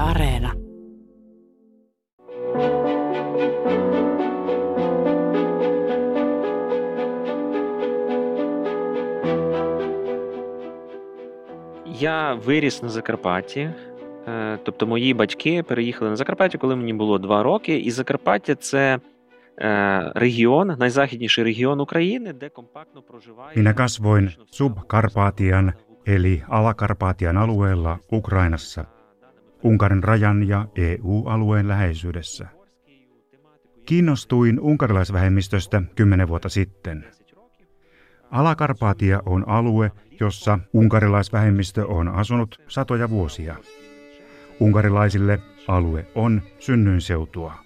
Areena. Я виріс на Закарпатті. Тобто мої батьки переїхали на Закарпаття, коли мені було 2 роки. І Закарпаття – це регіон, найзахідніший регіон України, де компактно проживає... Minä kasvoin Subkarpatian eli Alakarpatian alueella Ukrainassa, Unkarin rajan ja EU-alueen läheisyydessä. Kiinnostuin unkarilaisvähemmistöstä 10 vuotta sitten. Alakarpatia on alue, jossa unkarilaisvähemmistö on asunut satoja vuosia. Unkarilaisille alue on synnyinseutua.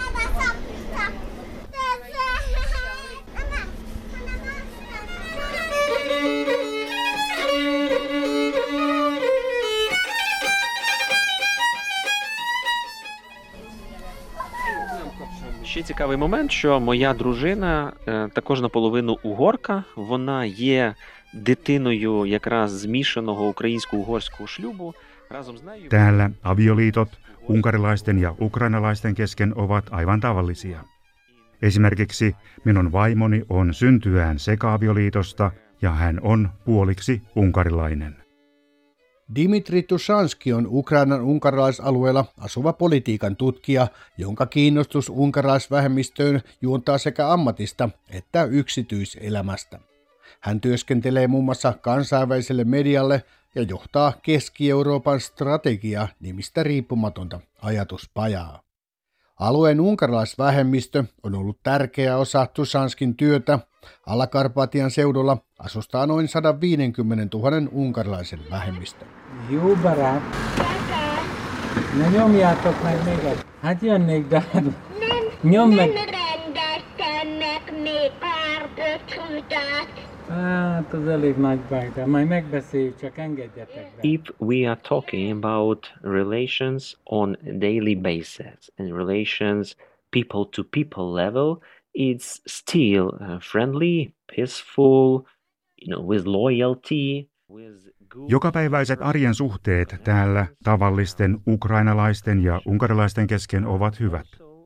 Ще цікавий момент, що моя дружина також наполовину угорка, вона є дитиною якраз змішаного українсько-угорського шлюбу. Разом з нею... Täällä avioliitot unkarilaisten ja ukrainalaisten kesken ovat aivan tavallisia. Esimerkiksi minun vaimoni on syntyään seka-avioliitosta ja hän on puoliksi unkarilainen. Dimitri Tushanski on Ukrainan unkarilaisalueella asuva politiikan tutkija, jonka kiinnostus unkarilaisvähemmistöön juontaa sekä ammatista että yksityiselämästä. Hän työskentelee muun muassa kansainväliselle medialle ja johtaa Keski-Euroopan strategia-nimistä riippumatonta ajatuspajaa. Alueen unkarilaisvähemmistö on ollut tärkeä osa Tushanskin työtä. Alakarpatian seudulla asustaa noin 150 000 unkarilaisen vähemmistö. Jó barát! Na nyomjátok meg még egy. Hát jönnék, de nyom meg! Nem rendeltenek még pár csutát. Hát az elég nagy baj, de majd megbeszéljük, csak engedjetek be. If we are talking about relations on a daily basis and relations people to people level, it's still friendly, peaceful, with loyalty, with good... Jokapäiväiset arjen suhteet täällä tavallisten ukrainalaisten ja unkarilaisten kesken ovat hyvät.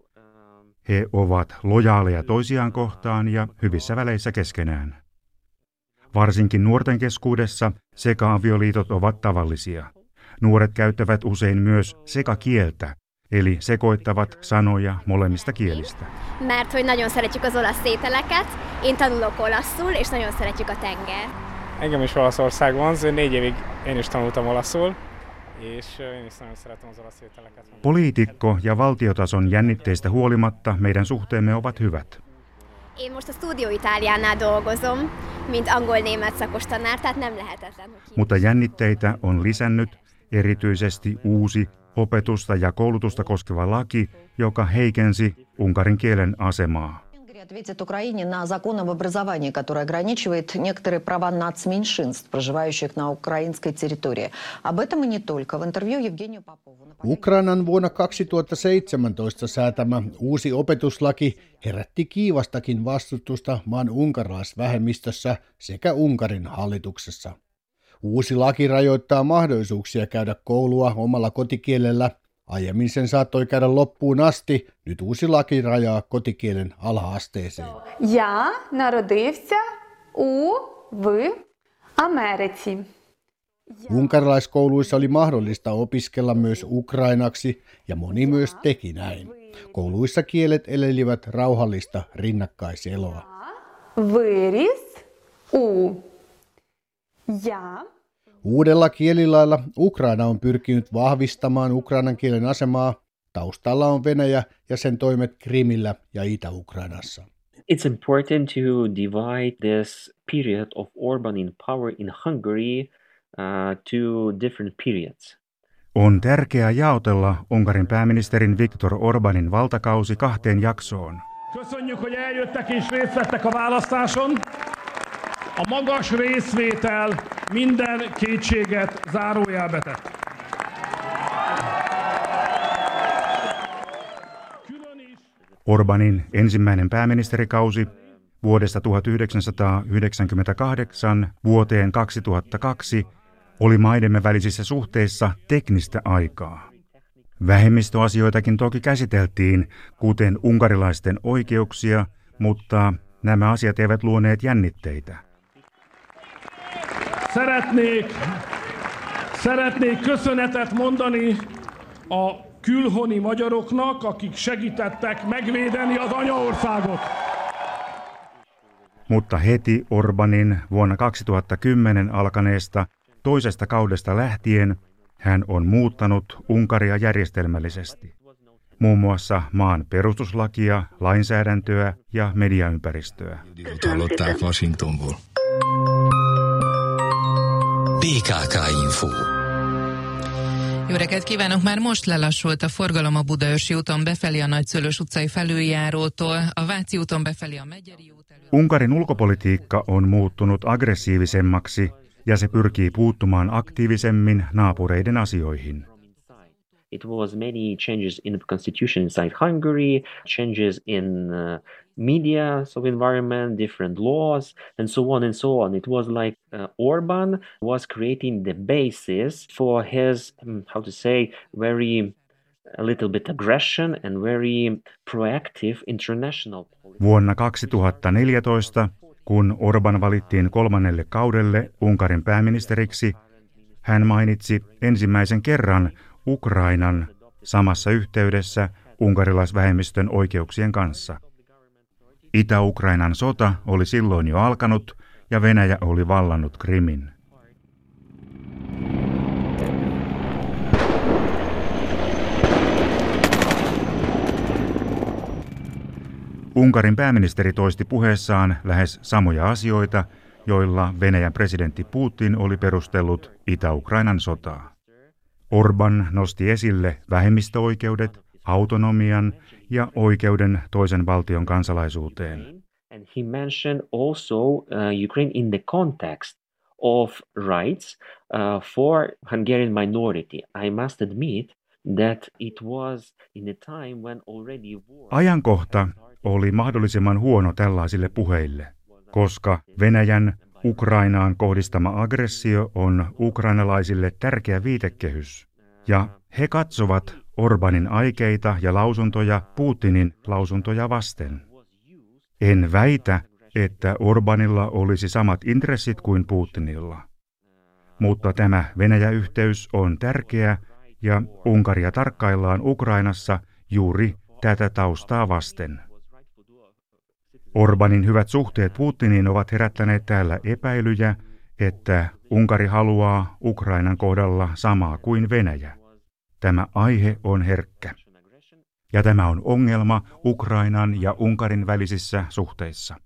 He ovat lojaaleja toisiaan kohtaan ja hyvissä väleissä keskenään. Varsinkin nuorten keskuudessa seka-avioliitot ovat tavallisia. Nuoret käyttävät usein myös sekakieltä, eli sekoittavat sanoja molemmista kielistä. Mert hogy nagyon szeretjük az olasz ételeket, én tanulok olaszul, és nagyon szeretjük a tenger. Engem is Olaszország vonz, 4 évig én is tanultam olaszul, és én is nagyon szeretem az olasz ételeket. Poliitikko- ja valtiotason jännitteistä huolimatta meidän suhteemme ovat hyvät. Én most a Studio Italiánál dolgozom, mint angol-német szakos tanár, tehát nem lehetetlen, hogy... Mutta jännitteitä on lisännyt erityisesti uusi opetusta ja koulutusta koskeva laki, joka heikensi unkarin kielen asemaa. Ответит Украине на закон об образовании, который ограничивает некоторые права нацменьшинств, проживающих на украинской территории. Об этом и не только. В интервью Евгению Попову... Ukrainan vuonna 2017 säätämä uusi opetuslaki herätti kiivastakin vastustusta maan unkarilaisvähemmistössä sekä Unkarin hallituksessa. Uusi laki rajoittaa mahdollisuuksia käydä koulua omalla kotikielellä. Aiemmin sen saattoi käydä loppuun asti, nyt uusi laki rajaa kotikielen ala-asteeseen. Я народився в Америці. Unkarilaiskouluissa oli mahdollista opiskella myös ukrainaksi ja moni myös teki näin. Kouluissa kielet elelivät rauhallista rinnakkaiseloa. Виріс у. Я. Uudella kielilailla Ukraina on pyrkinyt vahvistamaan ukrainan kielen asemaa. Taustalla on Venäjä ja sen toimet Krimillä ja Itä-Ukrainassa. It's important to divide this period of Orban in power in Hungary to different periods. On tärkeää jaotella Unkarin pääministerin Viktor Orbanin valtakausi 2 jaksoon. Köszönjük, hogy eljöttek és részt vettek a választáson. A magas részvétel minden kétséget zárójelbe tett. Orbanin ensimmäinen pääministerikausi vuodesta 1998 vuoteen 2002 oli maidemme välisissä suhteissa teknistä aikaa. Vähemmistöasioitakin toki käsiteltiin, kuten unkarilaisten oikeuksia, mutta nämä asiat eivät luoneet jännitteitä. Szeretnék köszönetet mondani a külhoni magyaroknak, akik segítettek megvédeni az anyaországot. Mutta heti Orbanin vuonna 2010 alkaneesta toisesta kaudesta lähtien hän on muuttanut Unkaria järjestelmällisesti. Muun muassa maan perustuslakia, lainsäädäntöä ja mediaympäristöä. PKK-info. Jó reggelt kívánok! Már most lelassult a forgalom a Budaörsi úton befelé a Nagyszőlős utcai felüljárótól, a Váci úton befelé a Megyeri út elől. Unkarin ulkopolitiikka on muuttunut aggressiivisemmaksi ja se pyrkii puuttumaan aktiivisemmin naapureiden asioihin. It was many changes in the constitution inside Hungary, changes in media, so environment, different laws, and so on and so on. It was like Orban was creating the basis for his, how to say, very a little bit aggression and very proactive international policy. Vuonna 2014, kun Orban valittiin 3. kaudelle Unkarin pääministeriksi, hän mainitsi ensimmäisen kerran Ukrainan samassa yhteydessä unkarilaisvähemmistön oikeuksien kanssa. Itä-Ukrainan sota oli silloin jo alkanut ja Venäjä oli vallannut Krimin. Unkarin pääministeri toisti puheessaan lähes samoja asioita, joilla Venäjän presidentti Putin oli perustellut Itä-Ukrainan sotaa. Orban nosti esille vähemmistöoikeudet, autonomian ja oikeuden toisen valtion kansalaisuuteen. And he mentioned also Ukraine in the context of rights for Hungarian minority. I must admit that it was in a time when already war... Ajankohta oli mahdollisimman huono tällaisille puheille, koska Venäjän Ukrainaan kohdistama aggressio on ukrainalaisille tärkeä viitekehys, ja he katsovat Orbanin aikeita ja lausuntoja Putinin lausuntoja vasten. En väitä, että Orbanilla olisi samat intressit kuin Putinilla. Mutta tämä Venäjä-yhteys on tärkeä ja Unkaria tarkkaillaan Ukrainassa juuri tätä taustaa vasten. Orbanin hyvät suhteet Putiniin ovat herättäneet täällä epäilyjä, että Unkari haluaa Ukrainan kohdalla samaa kuin Venäjä. Tämä aihe on herkkä. Ja tämä on ongelma Ukrainan ja Unkarin välisissä suhteissa.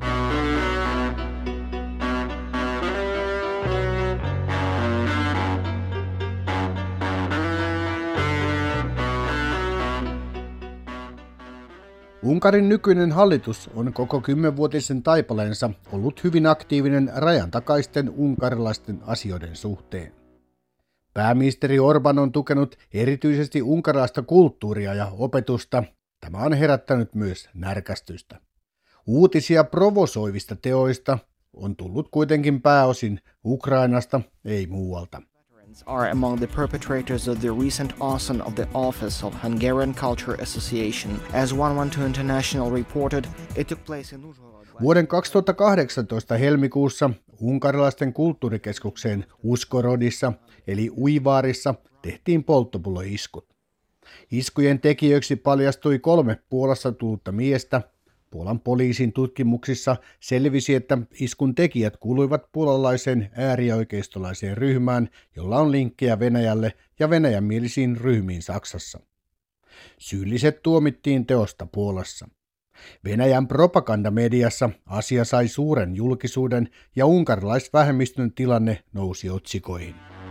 Unkarin nykyinen hallitus on koko 10-vuotisen taipaleensa ollut hyvin aktiivinen rajan takaisten unkarilaisten asioiden suhteen. Pääministeri Orban on tukenut erityisesti unkarilaista kulttuuria ja opetusta. Tämä on herättänyt myös närkästystä. Uutisia provosoivista teoista on tullut kuitenkin pääosin Ukrainasta, ei muualta. Are among the perpetrators of the recent arson of the office of Hungarian Culture Association. As 112 International reported, it took place in Uzhhorod. Vuoden 2018 helmikuussa unkarilaisten kulttuurikeskukseen Uzhhorodissa eli Uivaarissa tehtiin polttopulloiskut. Iskujen tekijöiksi paljastui 3 Puolassa tullutta miestä. Puolan poliisin tutkimuksissa selvisi, että iskun tekijät kuuluivat puolalaiseen äärioikeistolaiseen ryhmään, jolla on linkkejä Venäjälle ja venäjänmielisiin ryhmiin Saksassa. Syylliset tuomittiin teosta Puolassa. Venäjän propagandamediassa asia sai suuren julkisuuden ja unkarilaisvähemmistön tilanne nousi otsikoihin.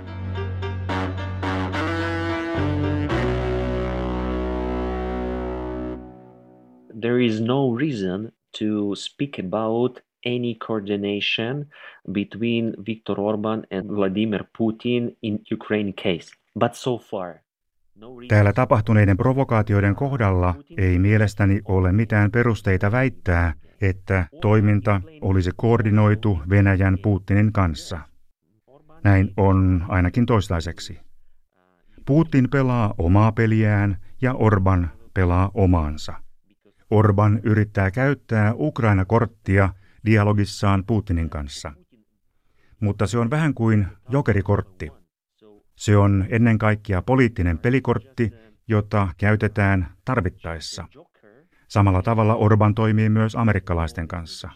There is no reason to speak about any coordination between Viktor Orban and Vladimir Putin in Ukraine case. But so far, Täällä tapahtuneiden provokaatioiden kohdalla ei mielestäni ole mitään perusteita väittää, että toiminta olisi koordinoitu Venäjän Putinin kanssa. Näin on ainakin toistaiseksi. Putin pelaa omaa peliään ja Orban pelaa omaansa. Orban yrittää käyttää Ukraina-korttia dialogissaan Putinin kanssa. Mutta se on vähän kuin jokerikortti. Se on ennen kaikkea poliittinen pelikortti, jota käytetään tarvittaessa. Samalla tavalla Orban toimii myös amerikkalaisten kanssa.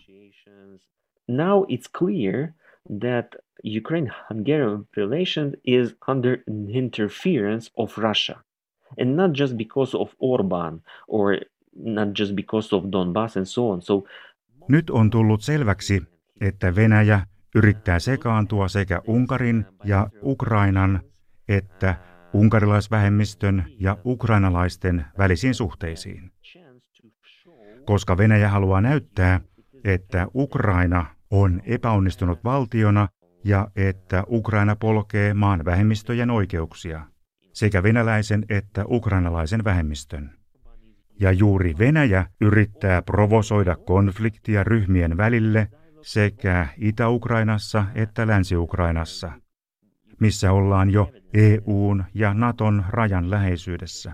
Now it's clear that Ukraine-Hungarian relations is under interference of Russia. And not just because of Orban or not just because of Donbass and so on. Nyt on tullut selväksi, että Venäjä yrittää sekaantua sekä Unkarin ja Ukrainan että unkarilaisvähemmistön ja ukrainalaisten välisiin suhteisiin. Koska Venäjä haluaa näyttää, että Ukraina on epäonnistunut valtiona ja että Ukraina polkee maan vähemmistöjen oikeuksia, sekä venäläisen että ukrainalaisen vähemmistön. Ja juuri Venäjä yrittää provosoida konfliktia ryhmien välille sekä Itä-Ukrainassa että Länsi-Ukrainassa, missä ollaan jo EU:n ja Naton rajan läheisyydessä.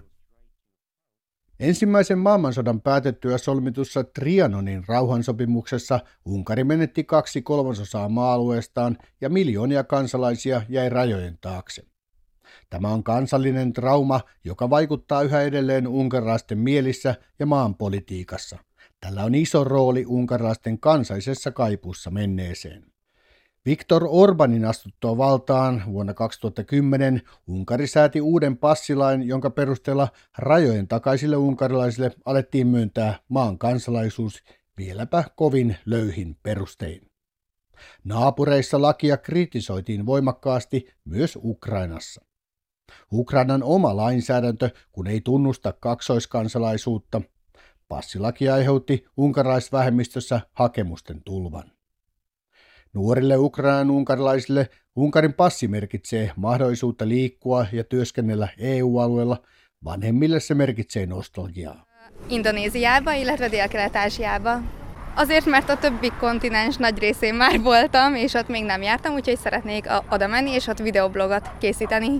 Ensimmäisen maailmansodan päätettyä solmitussa Trianonin rauhansopimuksessa Unkari menetti 2/3 maa-alueestaan ja miljoonia kansalaisia jäi rajojen taakse. Tämä on kansallinen trauma, joka vaikuttaa yhä edelleen unkarilaisten mielissä ja maan politiikassa. Tällä on iso rooli unkarilaisten kansallisessa kaipuussa menneeseen. Viktor Orbanin astuttua valtaan vuonna 2010 Unkari sääti uuden passilain, jonka perusteella rajojen takaisille unkarilaisille alettiin myöntää maan kansalaisuus vieläpä kovin löyhin perustein. Naapureissa lakia kritisoitiin voimakkaasti myös Ukrainassa. Ukrainan oma lainsäädäntö, kun ei tunnusta kaksoiskansalaisuutta, passilaki aiheutti unkarilaisvähemmistössä hakemusten tulvan. Nuorille Ukrainan unkarilaisille Unkarin passi merkitsee mahdollisuutta liikkua ja työskennellä EU-alueella, vanhemmille se merkitsee nostalgiaa. Indonéziába, illetve Dél-Kelet-Ázsiába. Azért, mert a többi kontinens nagy részén már voltam, és ott még nem jártam, úgyhoid szeretnék oda menni, és ott videoblogot készíteni.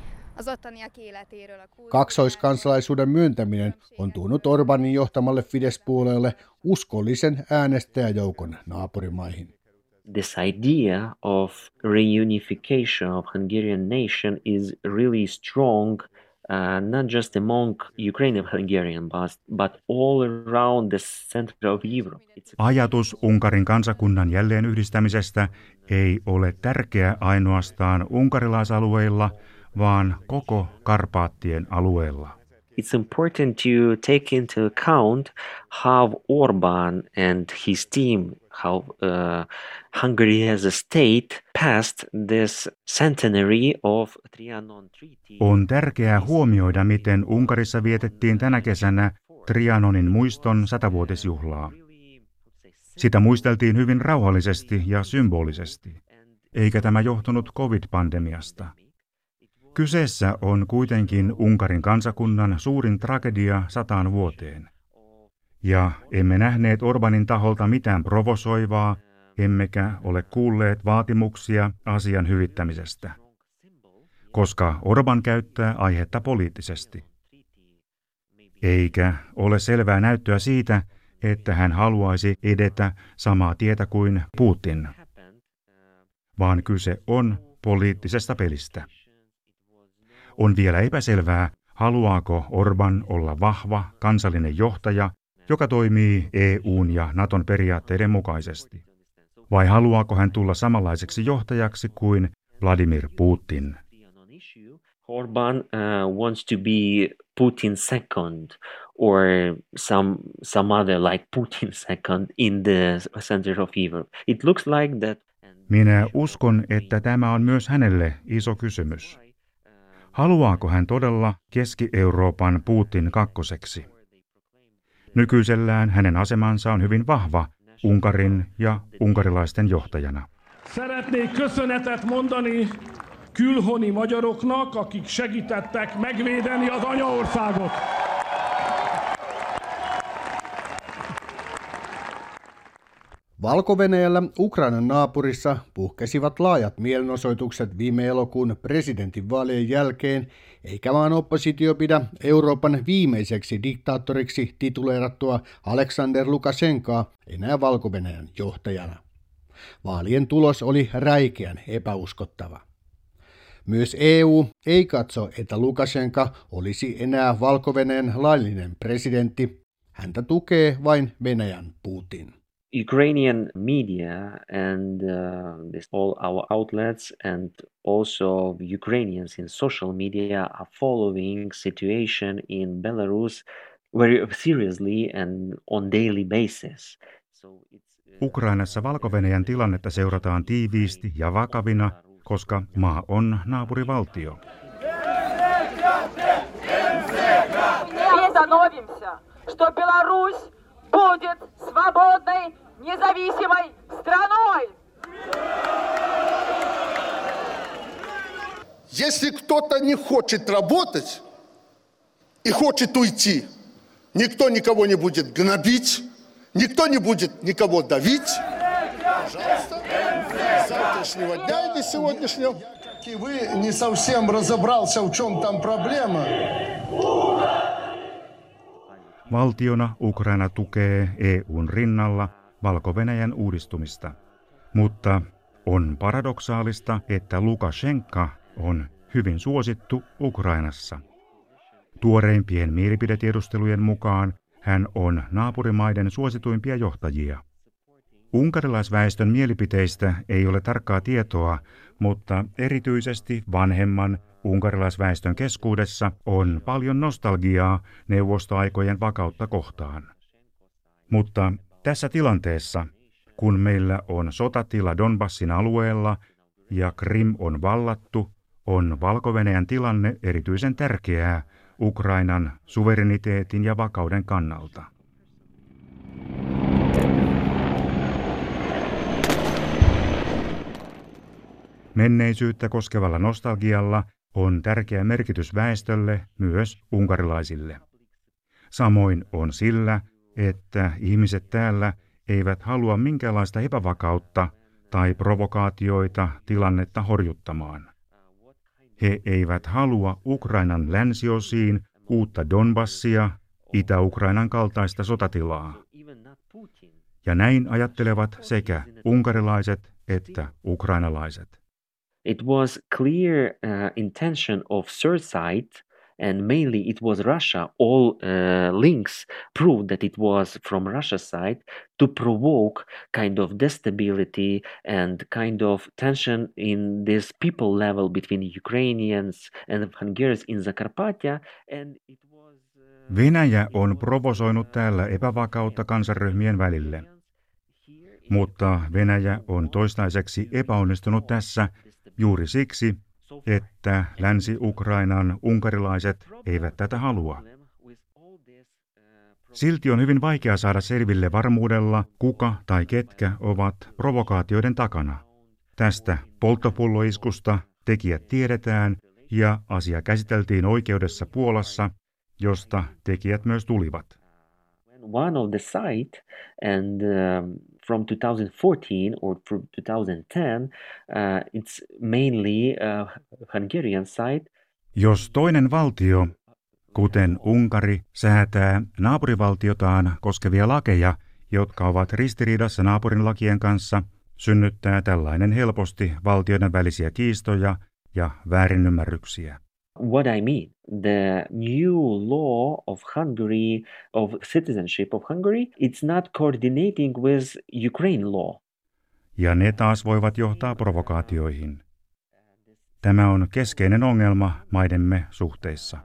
Kaksoiskansalaisuuden myöntäminen on tuonut Orbanin johtamalle Fidesz-puolueelle uskollisen äänestäjäjoukon naapurimaihin. This idea of reunification of Hungarian nation is really strong, not just among Ukrainian Hungarian, but all around the center of Europe. Ajatus Unkarin kansakunnan jälleen yhdistämisestä ei ole tärkeä ainoastaan unkarilaisalueilla, vaan koko Karpaattien alueella. It's important to take into account how Orban and his team, how Hungary as a state passed this centenary of Trianon Treaty. On tärkeää huomioida, miten Unkarissa vietettiin tänä kesänä Trianonin muiston 100-vuotisjuhlaa. Sitä muisteltiin hyvin rauhallisesti ja symbolisesti, eikä tämä johtunut COVID-pandemiasta. Kyseessä on kuitenkin Unkarin kansakunnan suurin tragedia 100 vuoteen. Ja emme nähneet Orbanin taholta mitään provosoivaa, emmekä ole kuulleet vaatimuksia asian hyvittämisestä, koska Orban käyttää aihetta poliittisesti. Eikä ole selvää näyttöä siitä, että hän haluaisi edetä samaa tietä kuin Putin, vaan kyse on poliittisesta pelistä. On vielä epäselvää, haluaako Orban olla vahva kansallinen johtaja, joka toimii EU:n ja Naton periaatteiden mukaisesti. Vai haluaako hän tulla samanlaiseksi johtajaksi kuin Vladimir Putin? Orban wants to be Putin second or some other like Putin second in the center of Europe. It looks like that. Minä uskon, että tämä on myös hänelle iso kysymys. Haluaako hän todella Keski-Euroopan Putin kakkoseksi? Nykyisellään hänen asemansa on hyvin vahva Unkarin ja unkarilaisten johtajana. Szeretnék köszönetet mondani külhoni magyaroknak, akik segítettek megvédeni az anyaországot. Valko-Venäjällä Ukrainan naapurissa puhkesivat laajat mielenosoitukset viime elokuun presidentinvaalien jälkeen, eikä maan oppositio pidä Euroopan viimeiseksi diktaattoriksi tituleerattua Aleksander Lukashenkaa enää Valko-Venäjän johtajana. Vaalien tulos oli räikeän epäuskottava. Myös EU ei katso, että Lukashenka olisi enää Valko-Venäjän laillinen presidentti. Häntä tukee vain Venäjän Putin. Ukrainian media and all our outlets and also Ukrainians in social media are following situation in Belarus very seriously and on daily basis. Ukrainassa Valko-Venäjän tilannetta seurataan tiiviisti ja vakavina, koska maa on naapurivaltio. Будет свободной, независимой страной. Если кто-то не хочет работать и хочет уйти, никто никого не будет гнобить, никто не будет никого давить. Пожалуйста, с завтрашнего дня или сегодняшнего. И вы не совсем разобрался, в чем там проблема. Valtiona Ukraina tukee EU:n rinnalla Valko-Venäjän uudistumista. Mutta on paradoksaalista, että Lukashenka on hyvin suosittu Ukrainassa. Tuoreimpien mielipidetiedustelujen mukaan hän on naapurimaiden suosituimpia johtajia. Unkarilaisväestön mielipiteistä ei ole tarkkaa tietoa, mutta erityisesti vanhemman unkarilaisväestön keskuudessa on paljon nostalgiaa neuvostoaikojen vakautta kohtaan. Mutta tässä tilanteessa, kun meillä on sotatila Donbassin alueella ja Krim on vallattu, on Valko-Venäjän tilanne erityisen tärkeää Ukrainan suvereniteetin ja vakauden kannalta. Menneisyyttä koskevalla nostalgialla on tärkeä merkitys väestölle, myös unkarilaisille. Samoin on sillä, että ihmiset täällä eivät halua minkäänlaista epävakautta tai provokaatioita tilannetta horjuttamaan. He eivät halua Ukrainan länsiosiin uutta Donbassia, Itä-Ukrainan kaltaista sotatilaa. Ja näin ajattelevat sekä unkarilaiset että ukrainalaiset. It was clear intention of third side, and mainly it was Russia. All links proved that it was from Russia's side to provoke kind of instability and kind of tension in this people level between Ukrainians and Hungarians in Zakarpattia. And it was, Venäjä on provosoinut täällä epävakautta kansanryhmien välille. Mutta Venäjä on toistaiseksi epäonnistunut tässä juuri siksi, että Länsi-Ukrainan unkarilaiset eivät tätä halua. Silti on hyvin vaikea saada selville varmuudella, kuka tai ketkä ovat provokaatioiden takana. Tästä polttopulloiskusta tekijät tiedetään ja asia käsiteltiin oikeudessa Puolassa, josta tekijät myös tulivat. One of the site and from 2014 or from 2010, it's mainly Hungarian side. Jos toinen valtio, kuten Unkari, säätää naapurivaltiotaan koskevia lakeja, jotka ovat ristiriidassa naapurin lakien kanssa, synnyttää tällainen helposti valtioiden välisiä kiistoja ja väärinymmärryksiä. What I mean, the new law of Hungary, of citizenship of Hungary, it's not coordinating with Ukraine law. Ja ne taas voivat johtaa provokaatioihin. Tämä on keskeinen ongelma maidemme suhteissa.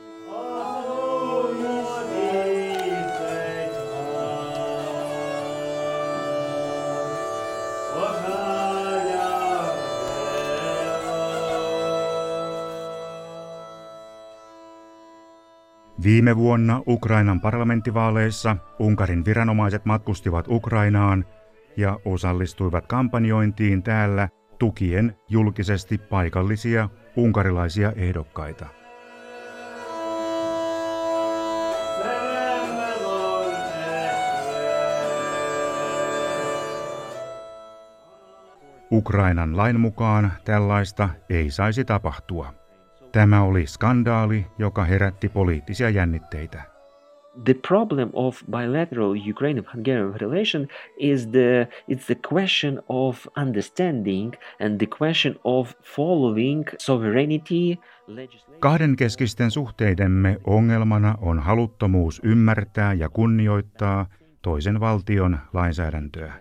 Viime vuonna Ukrainan parlamenttivaaleissa Unkarin viranomaiset matkustivat Ukrainaan ja osallistuivat kampanjointiin täällä tukien julkisesti paikallisia unkarilaisia ehdokkaita. Ukrainan lain mukaan tällaista ei saisi tapahtua. Tämä oli skandaali, joka herätti poliittisia jännitteitä. The problem of bilateral Ukraine-Hungarian relation is it's the question of understanding and the question of following sovereignty legislation. Kahdenkeskisten suhteidemme ongelmana on haluttomuus ymmärtää ja kunnioittaa toisen valtion lainsäädäntöä.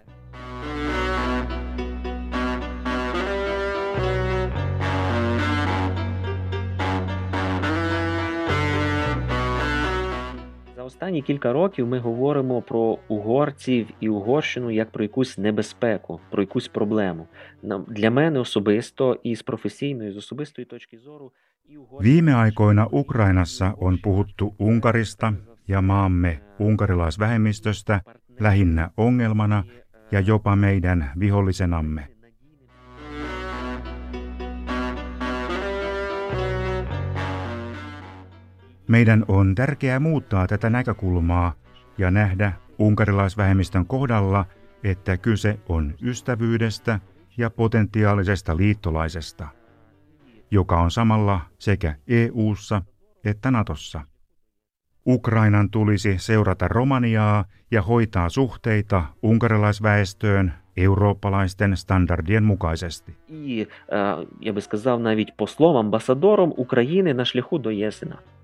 За останні кілька років ми говоримо про угорців і Угорщину як про якусь небезпеку, про якусь проблему. Для мене особисто і з професійної, і з особистої точки зору. Viime aikoina Ukrainassa on puhuttu Unkarista ja maamme unkarilaisvähemmistöstä lähinnä ongelmana ja jopa meidän vihollisenamme. Meidän on tärkeää muuttaa tätä näkökulmaa ja nähdä unkarilaisvähemmistön kohdalla, että kyse on ystävyydestä ja potentiaalisesta liittolaisesta, joka on samalla sekä EU:ssa että Natossa. Ukrainan tulisi seurata Romaniaa ja hoitaa suhteita unkarilaisväestöön eurooppalaisten standardien mukaisesti. І, я би сказав, навіть послом, амбасадором України на шляху до ЄС.